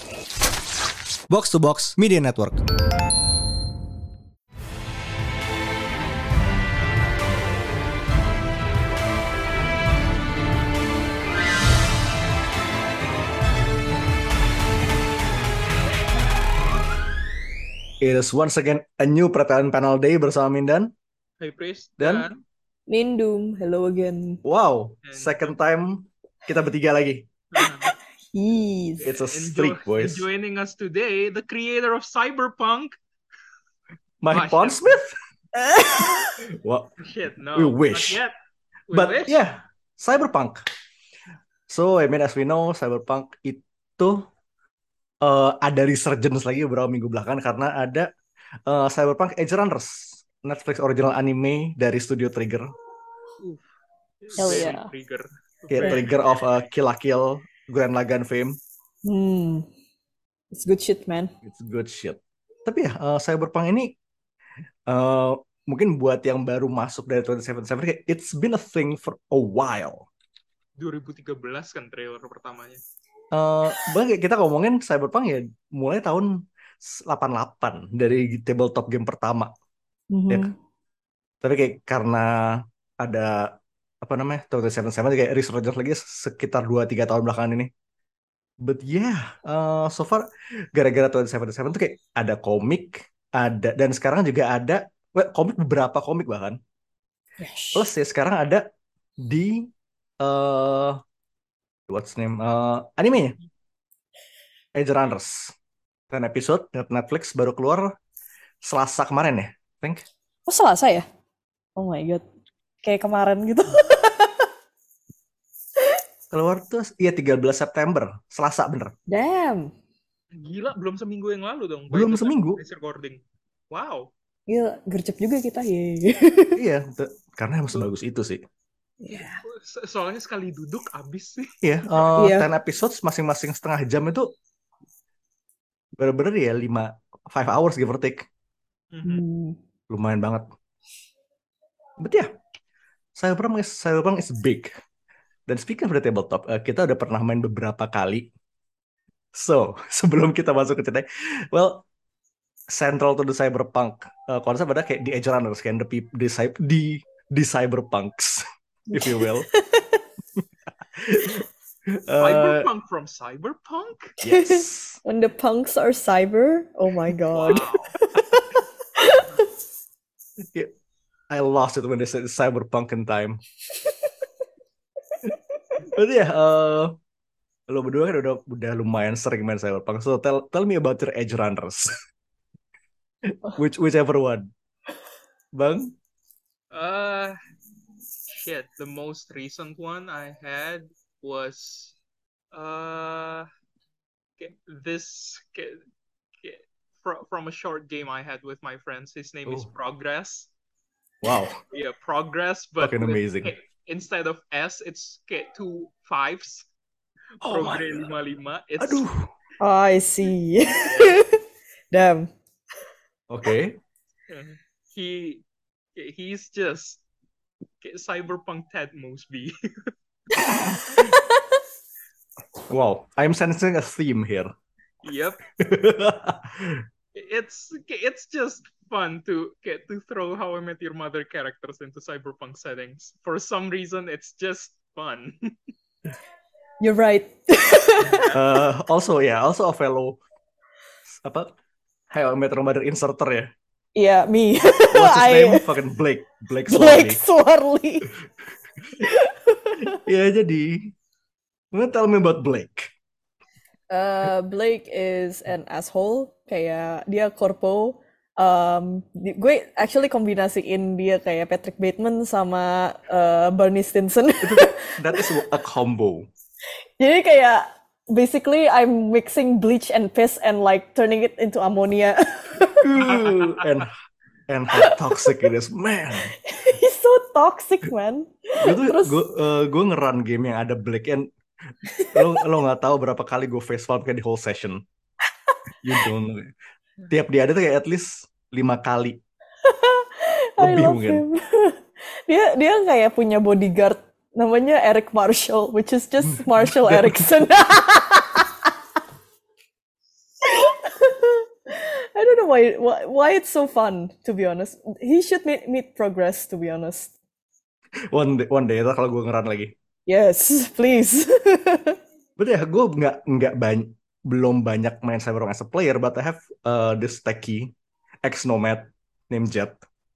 Box to Box Media Network. It is once again a new Pertanyaan Panel Day bersama Mindan. Hey Pris Dan Mindum, hello again. wow, second time kita bertiga lagi. Yes. It's a streak, boys. And joining us today, the creator of Cyberpunk, Mike Pondsmith? What? Shit, no. We wish. Not yet. But wish. yeah, Cyberpunk. So, I mean, as we know, Cyberpunk itu ada resurgence lagi beberapa minggu belakangan karena ada Cyberpunk Edge Runners, Netflix original anime dari studio Trigger. Hell yeah. Trigger. Yeah, Trigger of Kill la Kill, Gurren Lagann fame. It's good shit, man. It's good shit. Tapi ya, Cyberpunk ini mungkin buat yang baru masuk dari 2077, it's been a thing for a while. 2013 kan trailer pertamanya. Bahkan kita ngomongin Cyberpunk ya mulai tahun 88 dari tabletop game pertama. Ya. Tapi kayak karena ada apa namanya 2077 kayak resurgence lagi sekitar 2-3 tahun belakangan ini. But yeah, so far gara-gara 2077 tuh kayak ada komik, ada dan sekarang juga ada komik, beberapa komik bahkan. Yes. Plus ya sekarang ada di what's name animenya Edge Runners 10 episode Netflix baru keluar Selasa kemarin ya, I think. Oh, Selasa ya? Oh my god. Kayak kemarin gitu. Keluar tuh iya 13 September, Selasa bener. Damn. Gila, belum seminggu yang lalu dong. Belum seminggu. Recording. Wow. Gila, gercep juga kita. Yeay. Iya, karena emang sebagus itu sih. Yeah. Soalnya sekali duduk abis sih. Iya, 10 episodes masing-masing setengah jam itu bener-bener ya 5 hours give or take. Lumayan banget. But yeah, Cyberpunk is big. Dan speaking of the tabletop, kita udah pernah main beberapa kali. So, sebelum kita masuk ke cerita, well, central to the Cyberpunk konsep ada kayak di Edge Runners, kayak the Cyberpunks, if you will. Cyberpunk from Cyberpunk? Yes. When the punks are cyber, oh my god. Wow. Yeah, I lost it when they said Cyberpunk in time. But yeah, lo berdua kan udah lumayan sering main Cyberpunk. So tell me about your Edge Runners. Whichever one. Bang? Shit, the most recent one I had was from a short game I had with my friends. His name is Progress. Wow. Yeah, Progress, but fucking amazing. Instead of S, it's kayak 2 5s. Progress 55. Aduh. Oh, I see. Damn. Okay. He's just Cyberpunk Ted Mosby. Wow, I'm sensing a theme here. Yep. It's just fun to throw How I Met Your Mother characters into cyberpunk settings. For some reason, it's just fun. You're right. Also a fellow How I Met Your Mother inserter ya. Yeah, me. What's his name? Fucking Blake Swarley. Ya, jadi tell me about Blake. Blake is an asshole. Kayak dia korpo. Gue actually kombinasiin dia kayak Patrick Bateman sama Barney Stinson. That is a combo. Jadi kayak basically I'm mixing bleach and piss and like turning it into ammonia. and how toxic it is, man. He's so toxic, man. Gue nge-run game yang ada Blake and lo nggak tahu berapa kali gue facepalm kayak di whole session. You don't know. Tiap dia ada tuh kayak at least 5 kali. Lebih mungkin. Dia kayak punya bodyguard namanya Eric Marshall, which is just Marshall Erickson. know why it's so fun, to be honest. He should meet progress, to be honest. One day itu kalau gue ngeran lagi. Yes, please. But ya, gue belum banyak main Cyberpunk as a player, but I have this techie ex-nomad named Jet.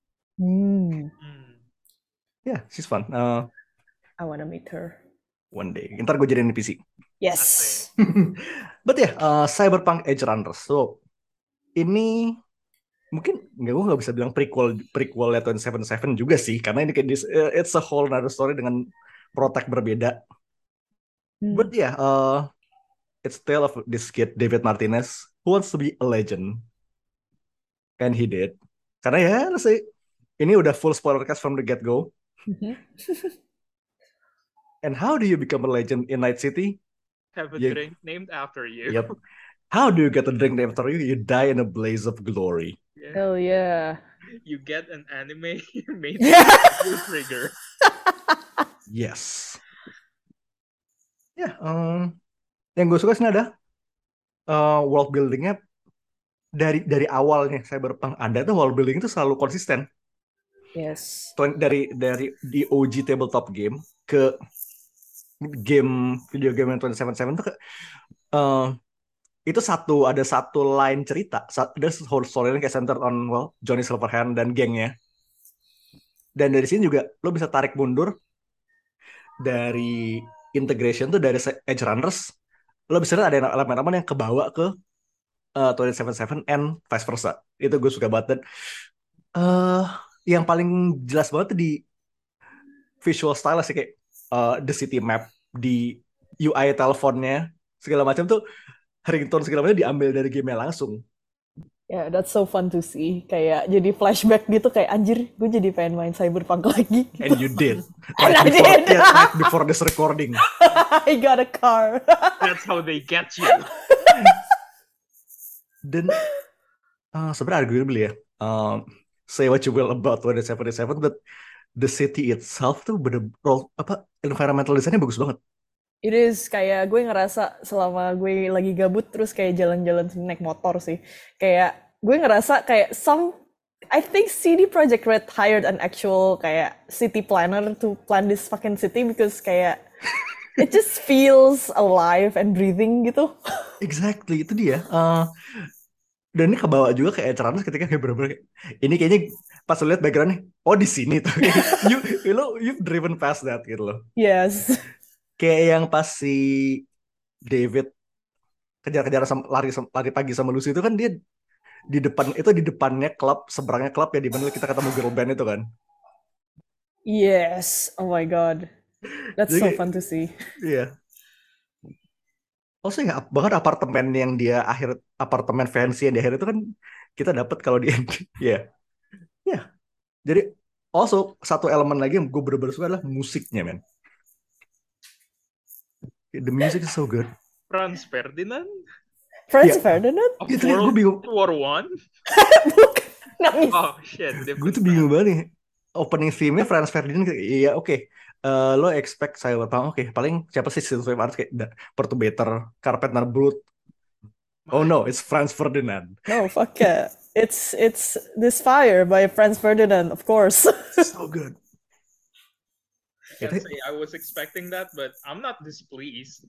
Yeah, she's fun. I wanna meet her. One day. Ntar gue jadiin PC. Yes. But ya, Cyberpunk Edge Runners. So, ini mungkin gue nggak bisa bilang prequelnya 2077 juga sih, karena ini kayak it's a whole another story dengan protek berbeda. But yeah, it's tale of this kid David Martinez who wants to be a legend, and he did. Karena ya, let's say ini udah full spoiler cast from the get go. And how do you become a legend in Night City? Have a drink named after you. Yep. How do you get a drink named after you? You die in a blaze of glory. Yeah. Hell yeah. You get an anime made your trigger. Yes. Ya, yang gue suka sih ada world buildingnya dari awalnya Cyberpunk ada tuh world building itu selalu konsisten. Yes. Dari di OG tabletop game ke video game yang 2077 tuh itu ada satu line cerita, ada whole story kayak centered on Johnny Silverhand dan gengnya. Dan dari sini juga lo bisa tarik mundur dari integration tuh dari Edge Runners, lo bisa lihat ada elemen-elemen yang kebawa ke 2077 and vice versa. Itu gue suka banget. Dan yang paling jelas banget tuh di visual style sih, kayak the city map, di UI teleponnya segala macam tuh, ringtone segala macam diambil dari game-nya langsung. Yeah, that's so fun to see. Kayak jadi flashback gitu, kayak anjir, gue jadi pengen main Cyberpunk lagi. And you did. And I did. Right before this recording. I got a car. That's how they get you. Dan sebenarnya arguably ya, say what you will about 2077, but the city itself tuh environmental design-nya bagus banget. It is, kayak gue ngerasa selama gue lagi gabut terus kayak jalan-jalan naik motor sih. Kayak gue ngerasa kayak I think CD Projekt Red hired an actual kayak city planner to plan this fucking city, because kayak it just feels alive and breathing gitu. Exactly, itu dia. Dan ini kebawa juga kayak Edge ketika kayak bener-bener ini kayaknya pas lu lihat background-nya, oh di sini tuh. You've driven past that gitu loh. Yes. Kayak yang pas si David kejar-kejar lari pagi sama Lucy itu kan, dia di depannya klub, seberangnya klub ya, di mana kita ketemu girl band itu kan. Yes, oh my god, that's so fun to see. Iya. Also ya banget apartemen yang dia apartemen fancy yang di akhir itu kan kita dapat kalau di ya. Ya. Jadi also satu elemen lagi yang gue bener-bener suka adalah musiknya, men. The music is so good. Franz Ferdinand? Ferdinand? Gue bingung. War One? Nangis. Oh shit. Gue tuh bingung banget nih. Opening theme-nya Franz Ferdinand. Iya, oke. Lo expect Cyberpunk, oke. Paling siapa sih synthwave artist kayak Perturbator, Carpenter Brut. Oh no, it's Franz Ferdinand. No, fuck yeah. It's This Fire by Franz Ferdinand, of course. So good. I can't say I was expecting that, but I'm not displeased.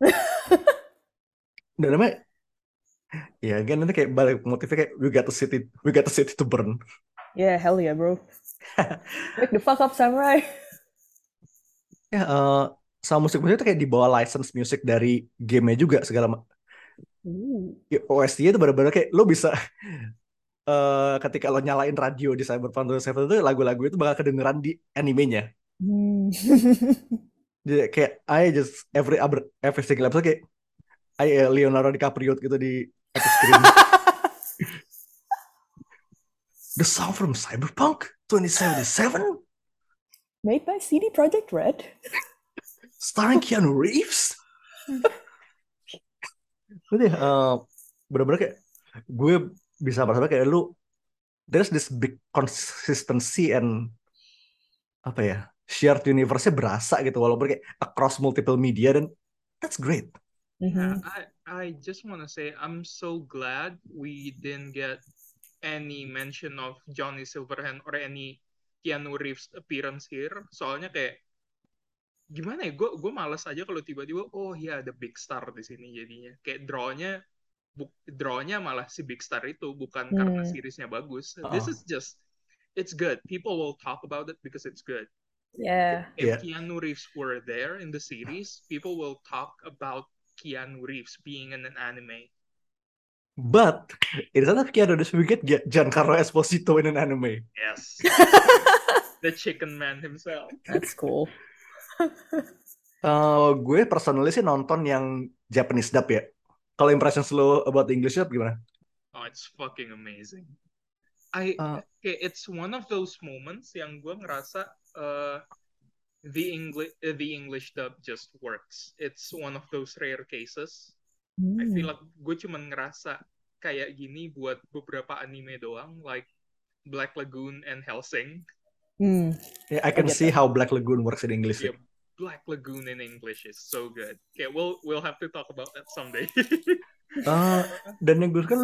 Dan namanya, ya kan nanti kayak balik motifnya kayak we got the city to burn. Yeah, hell yeah, bro. Wake the fuck up, samurai. Ya, sama musik-musiknya tuh kayak dibawa license music dari game-nya juga segala. OST-nya tuh bener-bener kayak lo bisa ketika lo nyalain radio di Cyberpunk 2077 itu lagu-lagu itu bakal kedengeran di animenya. Jadi kayak every single episode kayak Leonardo DiCaprio gitu di atas screen. The song from Cyberpunk 2077 made by CD Projekt Red, starring Keanu Reeves. Jadi bener-bener kayak gue bisa merasa kayak there's this big consistency and apa ya, shared universe-nya berasa gitu walaupun kayak across multiple media, dan that's great. Yeah, I just want to say I'm so glad we didn't get any mention of Johnny Silverhand or any Keanu Reeves appearance here. Soalnya kayak gimana ya, gue malas aja kalau tiba-tiba oh ya ada big star di sini jadinya. Kayak drawnya malah si big star itu bukan karena seriesnya bagus. This is just it's good. People will talk about it because it's good. Yeah. If Keanu Reeves were there in the series, people will talk about Keanu Reeves being in an anime. But instead of Keanu Reeves, we get Giancarlo Esposito in an anime. Yes. The chicken man himself. That's cool. Gue personally sih nonton yang Japanese dub ya. Kalau impressions lo about English dub gimana? Oh, it's fucking amazing. It's one of those moments yang gue ngerasa the English dub just works. It's one of those rare cases. I feel like gue cuman ngerasa kayak gini buat beberapa anime doang, like Black Lagoon and Hellsing. Yeah, I can see how Black Lagoon works in English. Yeah, Black Lagoon in English is so good. Okay, we'll have to talk about that someday. Dan yang gue kan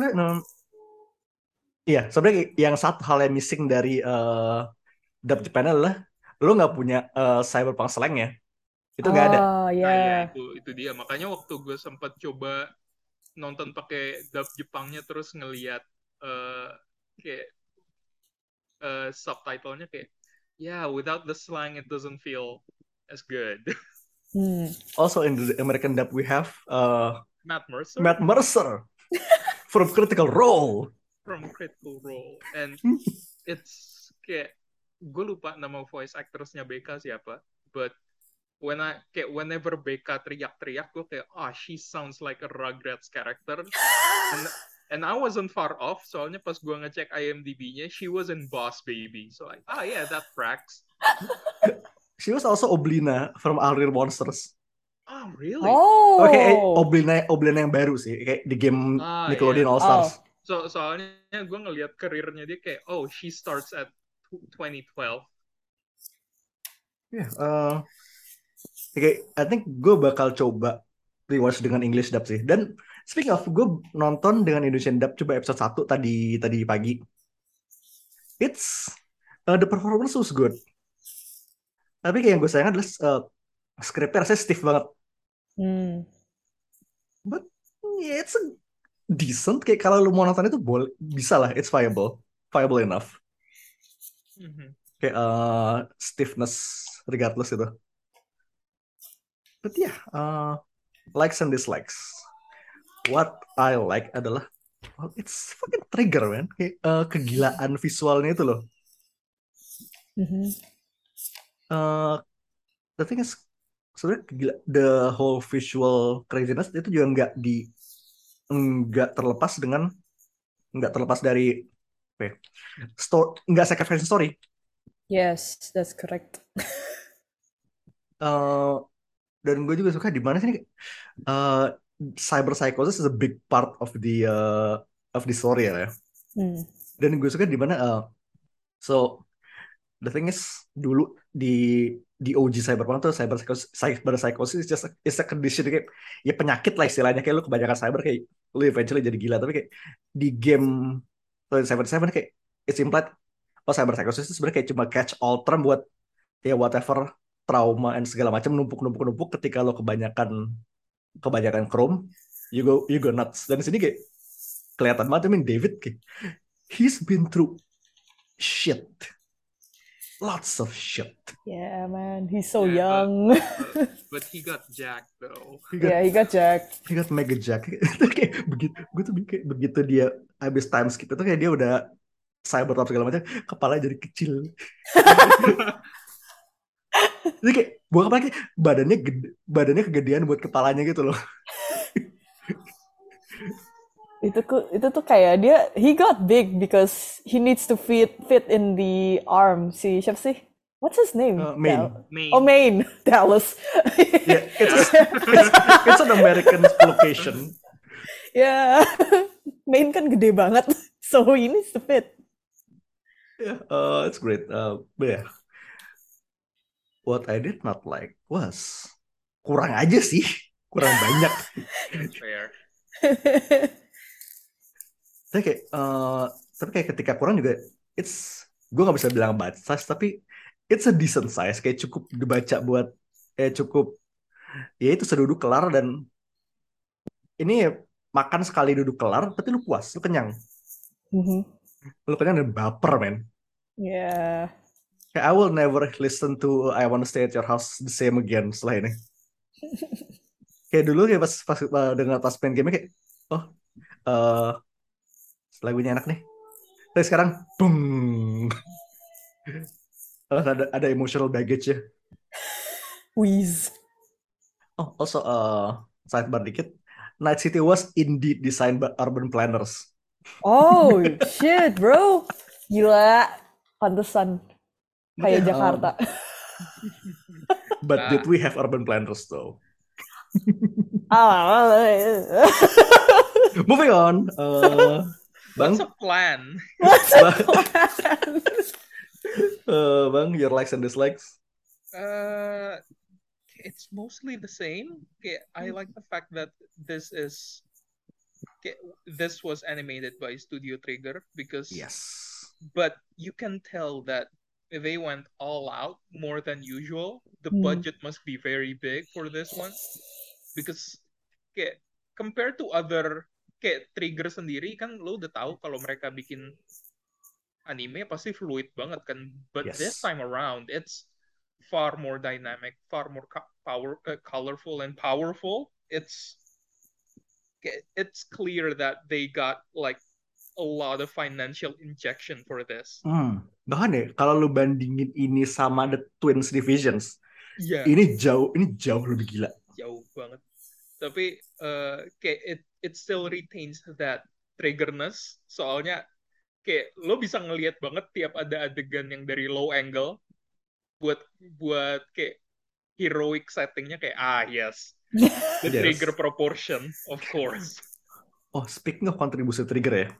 iya, sebenarnya yang satu hal yang missing dari dub Japan adalah lo nggak punya cyberpunk slang ya. Itu nggak ada. Yeah. Itu dia. Makanya waktu gue sempat coba nonton pakai dub Jepangnya terus ngelihat kayak subtitlenya kayak without the slang it doesn't feel as good. Also in the American dub we have Matt Mercer from Critical Role. And it's kayak gue lupa nama voice actressnya BK siapa, but whenever BK teriak-teriak gue kayak she sounds like a Rugrats character. And I wasn't far off, soalnya pas gue ngecek IMDb-nya, she was in Boss Baby. So like, yeah, that tracks. She was also Oblina from Our Real Monsters. Oh, really? Oh. Okay, Oblina yang baru sih, kayak di game Nickelodeon All Stars. Soalnya gue ngelihat karirnya dia kayak, she starts at 2012. Okay, I think gue bakal coba rewatch dengan English dub sih. Dan speaking of, gue nonton dengan Indonesian dub coba episode 1 tadi pagi. It's the performance was good. Tapi kayak yang gue sayang adalah scriptnya rasanya stiff banget. But it's a decent. Kayak kalau lu mau nonton itu boleh, bisa lah. It's viable enough. Kayak stiffness regardless itu. But yeah, likes and dislikes. What I like adalah it's fucking trigger, man. Kayak kegilaan visualnya itu loh. The thing is, sebenarnya the whole visual craziness itu juga nggak terlepas dari nggak second fashion story. Yes, that's correct. Dan gue juga suka di mana sih cyber psychosis is a big part of the story ya. Dan gue suka di mana so the thing is dulu di OG Cyberpunk tuh cyber psychosis is a condition kayak ya penyakit lah istilahnya, kayak lu kebanyakan cyber kayak lu eventually jadi gila. Tapi kayak di game Cyber 7 kayak it's implied cyber psychosis itu sebenarnya kayak cuma catch all term buat ya whatever trauma and segala macam numpuk ketika lo kebanyakan Chrome you go nuts. Dan di sini kayak kelihatan banget, I mean David kayak he's been through shit. Lots of shit. Yeah, man. He's so young. But he got jacked, though. He got jacked. He got mega jacked. Kayak begitu dia habis time skip itu kayak dia udah cyber top segala macam, kepala jadi kecil. Jadi kayak bukan apa lagi, badannya kegedean buat kepalanya gitu loh. Itu tuh kayak he got big because he needs to fit in the arm. Siapa sih? What's his name? Maine. Maine. Dallas. Yeah, it's an American location. Yeah. Maine kan gede banget, so he needs to fit. Yeah, it's great. But yeah, what I did not like was kurang aja sih, kurang banyak. Fair. Kayak Tapi kayak ketika kurang juga, gue nggak bisa bilang bad size, tapi it's a decent size, kayak cukup dibaca buat, cukup, ya itu seduduk kelar, dan ini makan sekali duduk kelar, tapi lu puas, lu kenyang. Lu kenyang dan baper, men. Yeah. Kayak I will never listen to I Wanna Stay at Your House the same again setelah ini. Kayak dulu kayak pas dengar pas main game kayak, oh, lagunya enak nih. Tapi sekarang, boom, ada emotional baggage ya. Wheeze. Oh, also, sidebar dikit. Night City was indeed designed by urban planners. Oh shit, bro. Gila. Pantesan. Kayak Jakarta. But did we have urban planners though? Moving on. Bang, What's a plan? What's a plan? Bang, your likes and dislikes? It's mostly the same. I like the fact that this was animated by Studio Trigger because yes, but you can tell that they went all out more than usual. The budget must be very big for this one because compared to other Trigger sendiri kan lo udah tahu kalau mereka bikin anime pasti fluid banget kan, but this time around it's far more dynamic, far more colorful and powerful. It's clear that they got like a lot of financial injection for this. Bahkan ya kalau lu bandingin ini sama The Twins Divisions, ini jauh lebih gila. Jauh banget. Tapi it still retains that triggerness. Soalnya lo bisa ngelihat banget tiap ada adegan yang dari low angle buat heroic settingnya yes. The trigger proportion, of course. Oh, speaking of kontribusi trigger ya.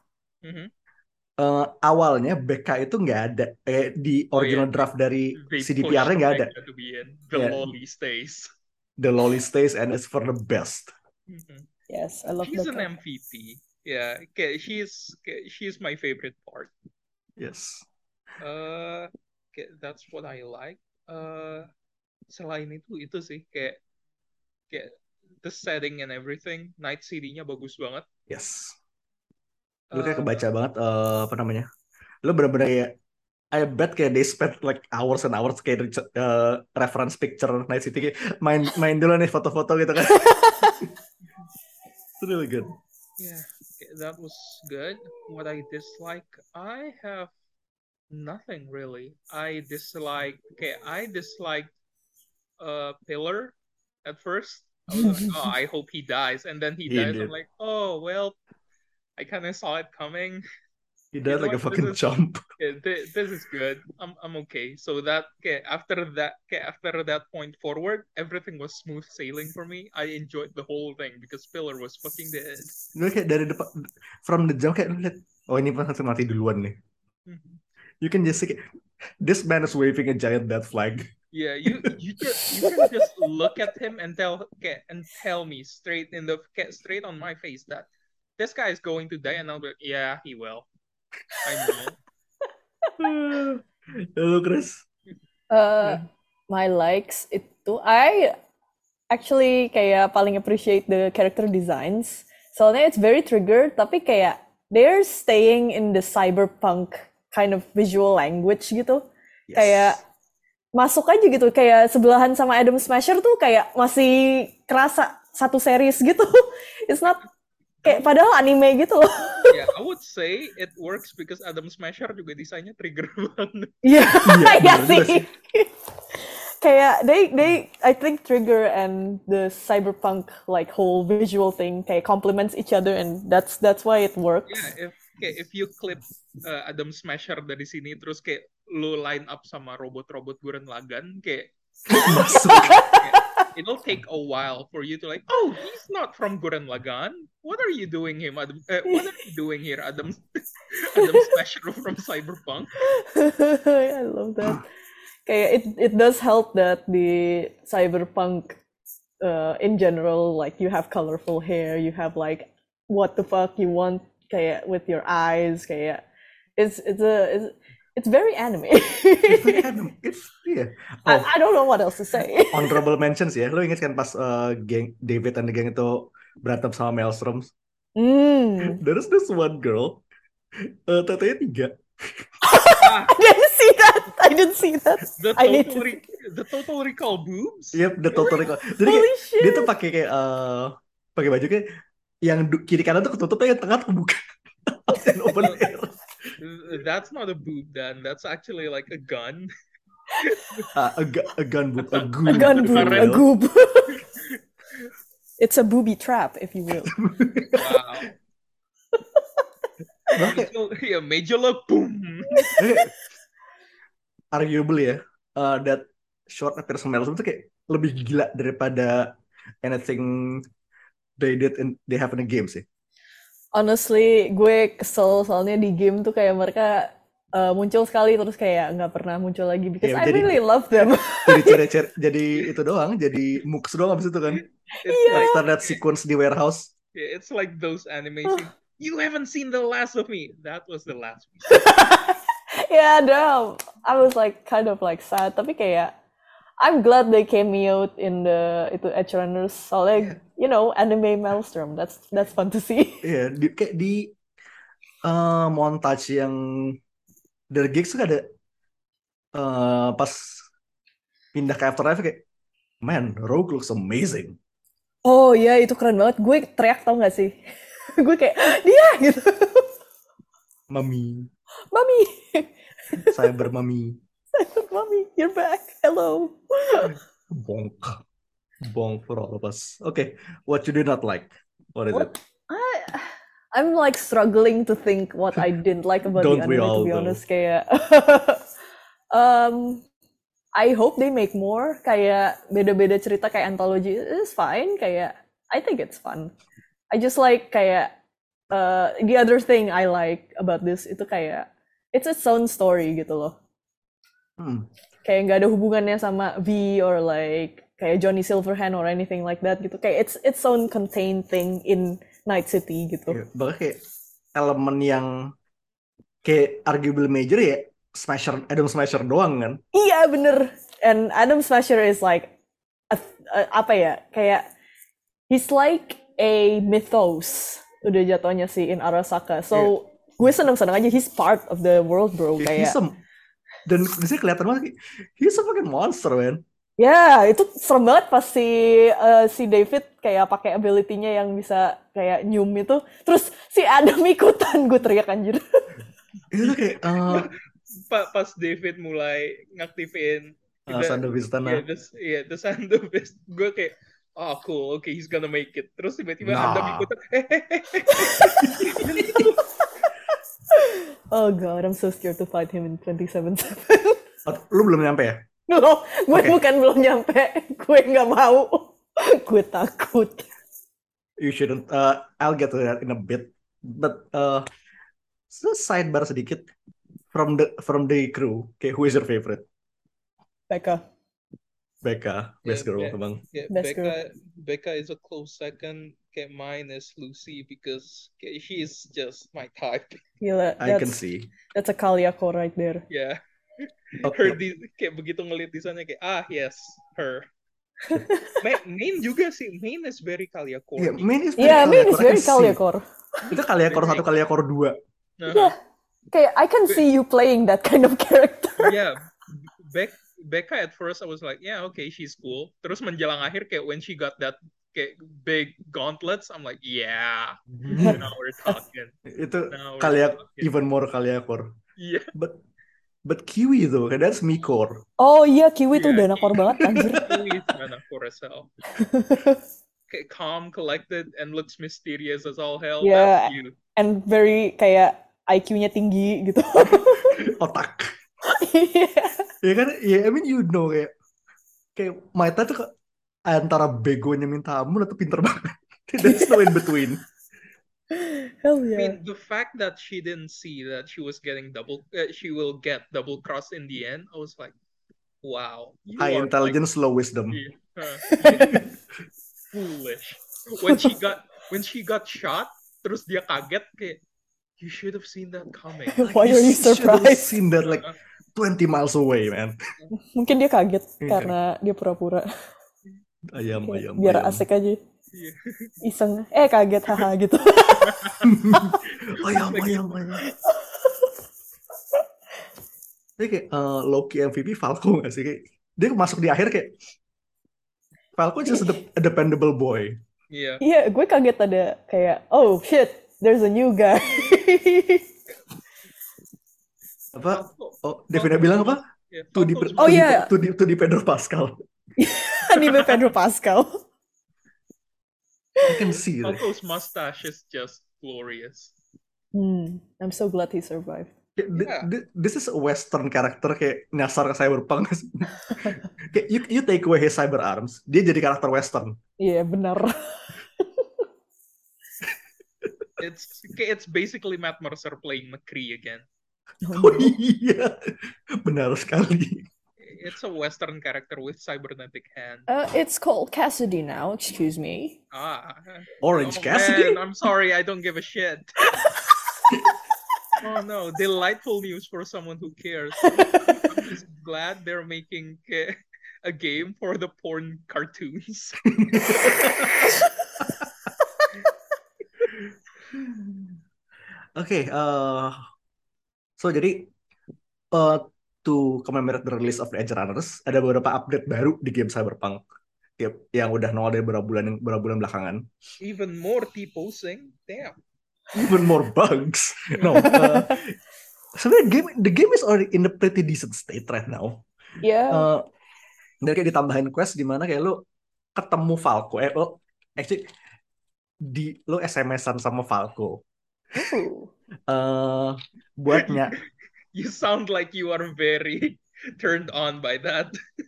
Awalnya BK itu nggak ada di original draft dari CDPR-nya nggak ada. The lolly stays. The lolly stays and it's for the best. Yes, I love She's an MVP. Yeah, she's my favorite part. Yes. That's what I like. Selain itu sih kayak the setting and everything, Night City-nya bagus banget. Yes. Lu kayak kebaca banget apa namanya? Lu bener-bener ya, I bet kayak they spent like hours and hours kayak reference picture Night City kayak main dulu nih foto-foto gitu kan. It's really good. Yeah, that was good. What I dislike, I have nothing really. I dislike Pillar at first. I was like, oh, I hope he dies, and then he dies. I'm like, oh well, I kind of saw it coming. He died like a fucking chump. This is good. I'm okay. So that after that point forward, everything was smooth sailing for me. I enjoyed the whole thing because Pillar was fucking dead. Gue kayak dari depan, from the jump kayak lu lihat, oh ini pasti mati duluan nih. You can just see this man is waving a giant death flag. Yeah, you can just look at him and tell me straight on my face that this guy is going to die, and I'll be like, yeah, he will. I know. Hello, Chris. My likes itu, I actually kayak paling appreciate the character designs. Soalnya it's very triggered, tapi kayak they're staying in the cyberpunk kind of visual language gitu. Yes. Kayak masuk aja gitu, kayak sebelahan sama Adam Smasher tuh kayak masih kerasa satu series gitu. It's not kayak padahal anime gitu loh. Yeah, I would say it works because Adam Smasher juga desainnya trigger banget. Iya, iya sih. Kayak they I think Trigger and the cyberpunk like whole visual thing kayak complements each other, and that's why it works. Yeah, if you clip Adam Smasher dari sini terus kayak lu line up sama robot-robot Gurren Lagann kayak it'll take a while for you to like, oh, he's not from Gurren Lagann. What are you doing him? What are you doing here, Adam Smasher from Cyberpunk? I love that. Kayak it does help that the Cyberpunk in general, like you have colorful hair, you have like what the fuck you want kayak with your eyes, kayak It's very anime. It's very anime. Yeah. I don't know what else to say. Honorable mentions ya. Lo inget kan pas geng David and the gang itu berantem sama Maelstrom? There's this one girl, tetenya 3. I didn't see that. The Total Recall boobs. Yep, the Total Recall. Jadi kayak, dia tuh pakai kayak pakai baju kayak yang kiri kanan tuh ketutup, yang tengah tuh kebuka. Open air. That's not a boob, Dan. That's actually like a gun. A gun boob, a goob. A gun boob, a goob. It's a booby trap, if you will. Wow. Major look, boom. Arguably ya, that short appearance Maelstrom tuh kayak lebih gila daripada anything they have in the game sih. Honestly, gue kesel soalnya di game tuh kayak mereka muncul sekali terus kayak nggak pernah muncul lagi because I really love them. Jadi itu doang, jadi mooks doang abis itu kan. Yeah. After that sequence di warehouse. Yeah, it's like those animations. You haven't seen the last of me. That was the last. Yeah, damn. I was like kind of like sad, tapi kayak I'm glad they cameoed in itu Edge Runners. Soalnya, you know, anime Maelstrom. That's fun to see. Iya, kayak di montage yang The Geeks tuh ada pas pindah ke Afterlife kayak, man, Rogue looks amazing. Oh iya, itu keren banget. Gue teriak tau gak sih? Gue kayak, dia gitu. Mami. Cyber Mami, you're back. Hello. Bonk for all of us. Okay, what you do not like? What is it? I'm like struggling to think what I didn't like about the anime, to be honest. Kayak, I hope they make more. Kayak beda-beda cerita kayak anthology is fine. Kayak I think it's fun. I just like kayak the other thing I like about this itu kayak it's its own story gitu loh. Kayak nggak ada hubungannya sama V or like kayak Johnny Silverhand or anything like that gitu. Kayak it's its own contained thing in Night City gitu. Yeah, bahkan kayak elemen yang kayak arguable major ya Adam Smasher doang kan? Iya bener. And Adam Smasher is like apa ya? Kayak he's like a mythos udah jatuhnya sih in Arasaka. So gue seneng-seneng aja he's part of the world, bro. Kayak dan bisa kelihatan banget he's a fucking monster, man. Ya, itu serem banget pas si David kayak pakai ability-nya yang bisa kayak nyum itu. Terus si Adam ikutan, gue teriak anjir. Itu kayak pas David mulai ngaktifin Sandovis Tanah. The Sandovis. Gue kayak oh cool, okay, he's gonna make it. Terus tiba-tiba Adam ikutan. Oh god, I'm so scared to fight him in 27/7. Lu belum nyampe ya? No, gue bukan belum nyampe. Gue nggak mau. Gue takut. You shouldn't. I'll get to that in a bit. But sidebar sedikit from the crew. Okay, who is your favorite? Becca, best girl, bang. Yeah, Becca is a close second. Okay, mine is Lucy because she is just my type. Gila, I can see. That's a Kaliako right there. Yeah. Her kayak begitu ngeliat desainnya kayak yes, her. Main juga sih, Main is very Kaliako. Yeah, Main is very Kaliako. Itu Kaliako 1, Kaliako 2. Yeah, kayak I can see you playing that kind of character. Yeah, Becca at first I was like, yeah, okay, she's cool. Terus menjelang akhir kayak when she got that kayak big gauntlets, I'm like, yeah, now we're talking. Itu even more Kaliako. Yeah. But Kiwi though, that's Mikor. Oh iya, Kiwi tuh danakor banget anjir. Kiwi is danakor as hell. Okay, calm, collected, and looks mysterious as all hell. Yeah, and very kayak IQ-nya tinggi gitu. Otak. Ya kan, I mean you know kayak Maita tuh antara begonya minta ampun atau pinter banget. There's no in between. Hell yeah. I mean, the fact that she didn't see that she was getting she will get double crossed in the end, I was like, wow. High intelligence, low wisdom. Foolish. When she got shot, terus dia kaget kayak, you should have seen that coming. Like, Why are you should have surprised? seen that like 20 miles away, man. Mungkin dia kaget Iya. karena dia pura-pura. Ayam, Kayak ayam, biar ayam. asik aja. Yeah. Iseng. Kaget, haha gitu. Ayam, ayam, ayam. Dia kayak Loki MVP Falco gak sih? Kayak, dia masuk di akhir kayak Falco just a dependable boy. Yeah. Iya, gue kaget ada kayak, oh shit, there's a new guy. Apa? Oh, Devina bilang apa? Yeah, To di, Falco's Oh, iya. to di Pedro Pascal. Anime Pedro Pascal. I can see it. Falco's mustache is just glorious. I'm so glad he survived. This is a Western character kayak nyasar ke cyberpunk. Kayak you take away his cyber arms, dia jadi karakter Western. Iya, benar. It's basically Matt Mercer playing McCree again. Oh iya, benar sekali. It's a Western character with cybernetic hand. It's called Cassidy now, excuse me. Orange Oh, Cassidy? man, I'm sorry, I don't give a shit. Oh no, delightful news for someone who cares. I'm just glad they're making a game for the porn cartoons. Okay, so jadi to commemorate the release of the Edge Runners, ada beberapa update baru di game Cyberpunk yang udah nongol dari beberapa bulan belakangan. Even more T-posing, damn. Even more bugs. No, sebenarnya the game is already in a pretty decent state right now. Yeah. Dan kayak ditambahin quest di mana kayak lo ketemu Falco, lo SMS-an sama Falco. Buatnya. You sound like you are very turned on by that.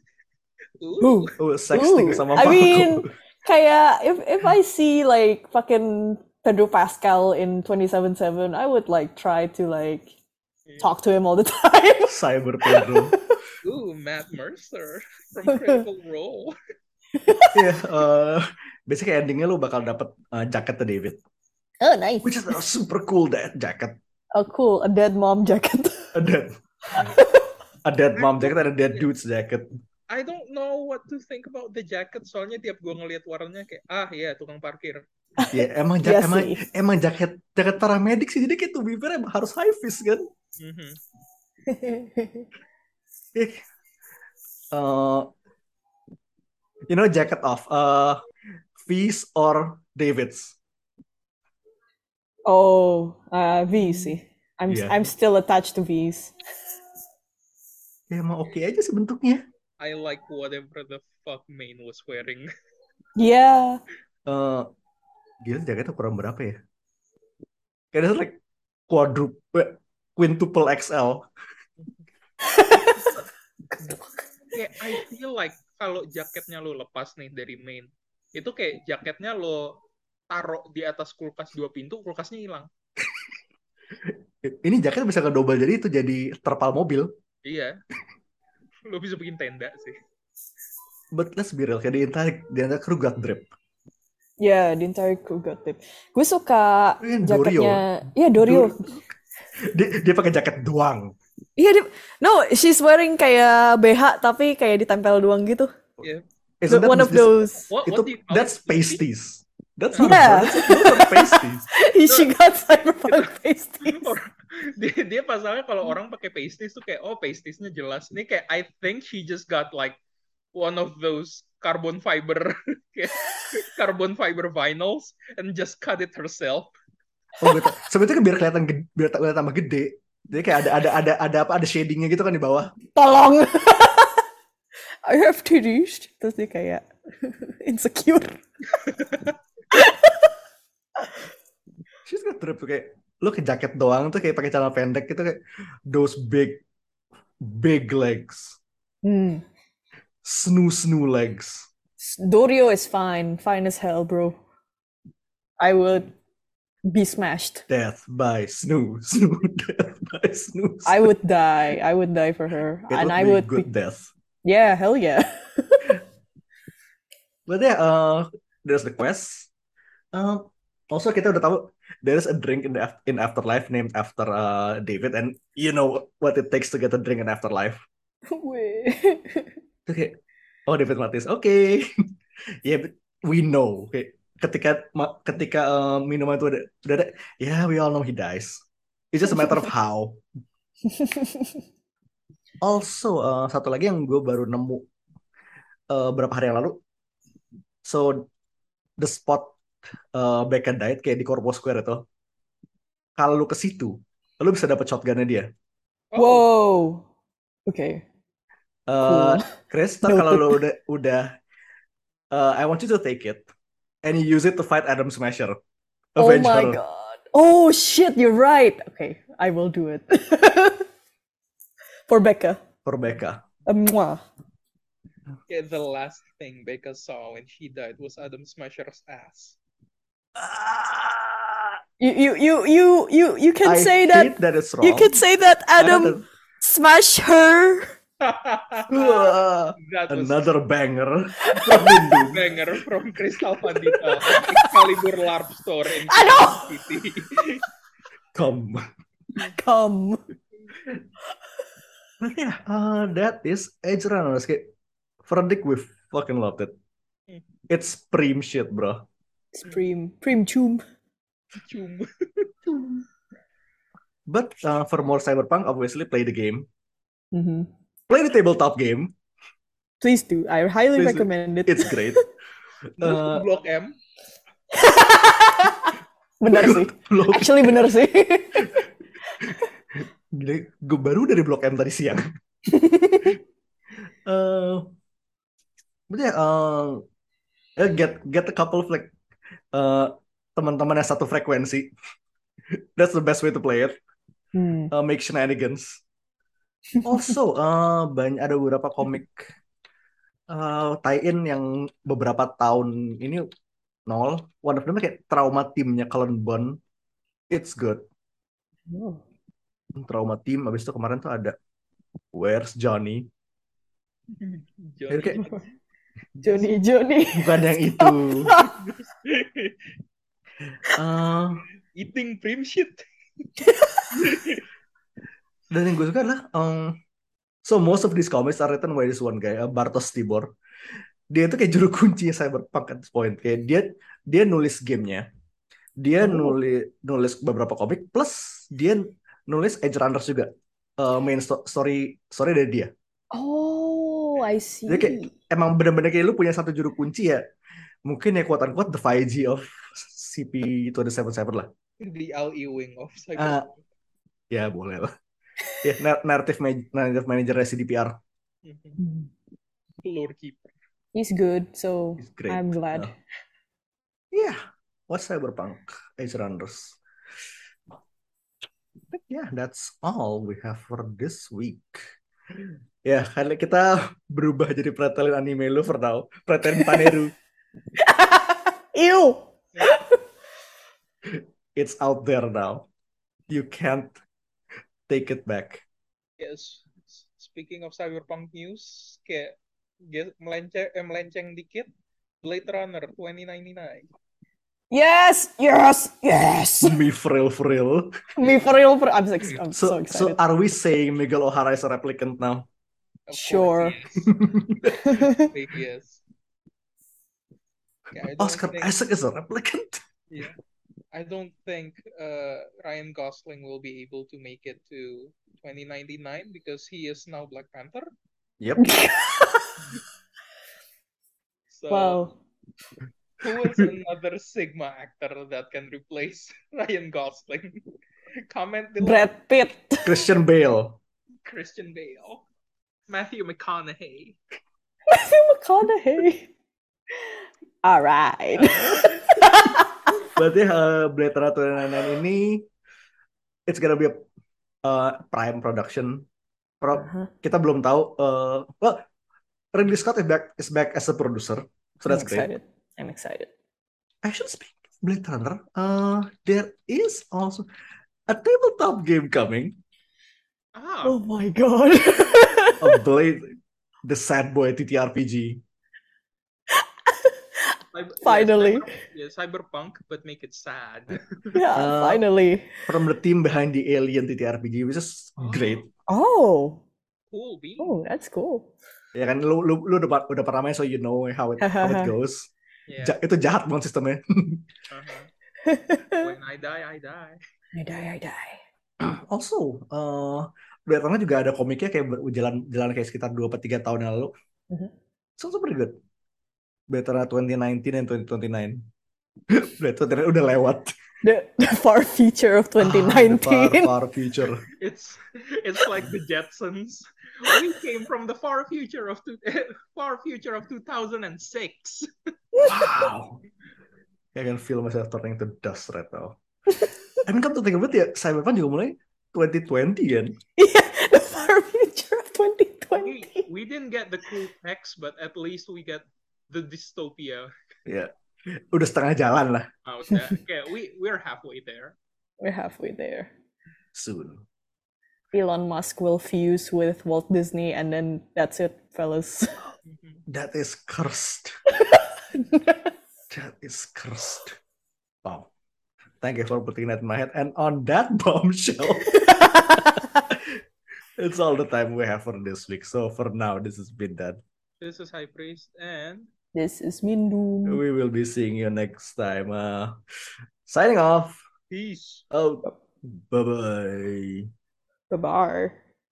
Sexting sama Falco. I mean, kayak if I see like fucking Pedro Pascal in 2077, I would like try to like talk to him all the time. Cyber Pedro. Ooh, Matt Mercer from Critical Role. Basically endingnya lo bakal dapet jaket to David. Oh, nice. Which is a super cool jacket. Oh, cool. A dead mom jacket. A dead mom jacket and a dead dude's jacket. I don't know what to think about the jacket. Soalnya tiap gue ngeliat warnanya kayak, ya tukang parkir. Ya emang jaket paramedik sih. Jadi kayak to be fair harus high vis kan. Jacket off. V's or David's? Oh, V's sih. I'm still attached to V's. Ya emang oke aja sih bentuknya. I like whatever the fuck Main was wearing. Yeah. Gila jaketnya kurang berapa ya? Kayaknya like quintuple XL. I feel like kalau jaketnya lo lepas nih dari Main, itu kayak jaketnya lo taruh di atas kulkas 2 pintu, kulkasnya hilang. Ini jaket bisa kedobel jadi terpal mobil. Iya. Lo bisa bikin tenda sih. But let's be real, kayak the entire crew got drip. Yeah, the entire crew got drip. Gue suka jaketnya. Iya, Dorio. Dia pakai jaket doang. Iya, no, she's wearing kayak BH tapi kayak ditempel doang gitu. Yeah. One of those. That's pasties. That's not those are pasties. She got cyberpunk pasties. Dia pasalnya kalau orang pakai pasties tuh kayak pastiesnya jelas. Ini kayak I think she just got like one of those carbon fiber vinyls and just cut it herself. Gitu. Sebetulnya biar kelihatan tambah gede. Jadi kayak ada shadingnya gitu kan di bawah. Tolong. I have titties. Terus dia kayak insecure. She's got drip tuh kayak lo ke jaket doang tuh kayak pakai celana pendek gitu kayak those big legs. Snoo legs. Dorio is fine as hell, bro. I would be smashed. Death by Snoo. Death by Snoo. I would die for her. And I would good death. Yeah, hell yeah. But yeah, there's the quest. Also kita udah tahu there's a drink in Afterlife named after David, and you know what it takes to get a drink in Afterlife. Wait. Okay. Oh, David Martinez. Okay. Yeah, but we know. Okay. Ketika minuman itu udah ada, yeah, we all know he dies. It's just a matter of how. Also, satu lagi yang gue baru nemu berapa hari yang lalu. So, the spot Becca died kayak di Corpo Square itu. Kalau lu ke situ, lu bisa dapat shotgunnya dia. Oh, Whoa. Okay. Cool. Chris, ntar kalau lu udah I want you to take it and you use it to fight Adam Smasher. Oh Avenge my her. god. Oh shit, you're right. Okay, I will do it. For Becca. For Becca. Mwah. yeah, the last thing Becca saw when she died was Adam Smasher's ass. You can I say hate that. that it's wrong. You can say that Adam smashed her. That was Another banger from Hindu. banger from Crystal Pandita, Excalibur LARP store in Aduh! City. Come. But yeah, that is Edge Runners. Kayak Verdict, we fucking loved it. It's preem shit, bro. It's preem choom. But for more Cyberpunk, obviously play the game. Mm-hmm. Play the tabletop game. Please do. I highly recommend it. It's great. Block M. Benar sih. Actually benar sih. Gila, gue baru dari Blok M tadi siang. But yeah, get a couple of like teman-teman yang satu frekuensi. That's the best way to play it. Make shenanigans. Also, ada beberapa komik tie-in yang beberapa tahun ini nol. One of them kayak Trauma Team-nya Cullen Bunn. It's good. Trauma Team. Abis itu kemarin tuh ada Where's Johnny? Johnny. Bukan yang itu. Eating preem shit. Dan yang gue suka adalah so most of these comics are written by this one guy, Bartosz Tibor. Dia itu kayak juru kunci Cyberpunk at this point. Kayak dia nulis gamenya, dia nulis beberapa komik, plus dia nulis Edge Runners juga. Main story dari dia. Oh, I see. Jadi kayak emang benar-benar kayak lu punya satu juru kunci ya. Mungkin ya quote-unquote the 5G of CP277 lah. The LE wing of Cyberpunk. Ya boleh lah. Ya, narrative manager CDPR. Lore keeper. He's good, so He's great. I'm glad. Yeah, what's Cyberpunk Edge Runners? But yeah, that's all we have for this week. Ya, karena kita berubah jadi pretelin anime lu for now. Pretelin Paneru. Ew! It's out there now. You can't take it back. Yes. Speaking of Cyberpunk news, kayak melenceng dikit, Blade Runner 2099. Yes! Me for real. Me for real. I'm so excited. So are we saying Miguel O'Hara is a replicant now? Sure. Yes. Yeah, Oscar Isaac is a replicant? Yeah. I don't think Ryan Gosling will be able to make it to 2099 because he is now Black Panther. Yep. So, wow. Who is another Sigma actor that can replace Ryan Gosling? Comment below. Brad Pitt. Christian Bale. Matthew McConaughey. All right. Berarti Blade Runner 2099 ini it's gonna be a prime production. Kita belum tahu. Ridley Scott is back as a producer, so that's great. I'm excited. Actually, speaking of Blade Runner, there is also a tabletop game coming. Oh my god! A Blade, the Sad Boy TTRPG. Finally. Cyberpunk, but make it sad. Yeah, finally. From the team behind the Alien TTRPG, which is great. Oh. Cool, B. Oh, that's cool. Ya kan, lu udah pernah main, so you know how it goes. Yeah. Itu jahat banget sistemnya. When I die, I die. I die. Also, Batman juga ada komiknya kayak jalan kayak sekitar 2-3 tahun yang lalu. So pretty good. Batman 2019 and 2029. Batman udah lewat. The far future of 2019. Far future. It's like the Jetsons. We came from the far future of 2006. Wow. I can feel myself turning to dust right now. I mean, come to think of it, ya, Cyberpunk juga mulai 2020 kan? Yeah, the far future of 2020. We didn't get the cool text, but at least we get the dystopia. Ya, udah setengah jalan lah. Okay, we're halfway there. We're halfway there. Soon. Elon Musk will fuse with Walt Disney, and then that's it, fellas. That is cursed. That is cursed. Wow. Thank you for putting that in my head. And on that bombshell, it's all the time we have for this week. So for now, this has been done. This is High Priest, and this is Mindu. We will be seeing you next time. Signing off. Peace. Oh, bye-bye. Bye-bye.